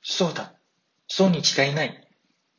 そうだ、そうに違いない。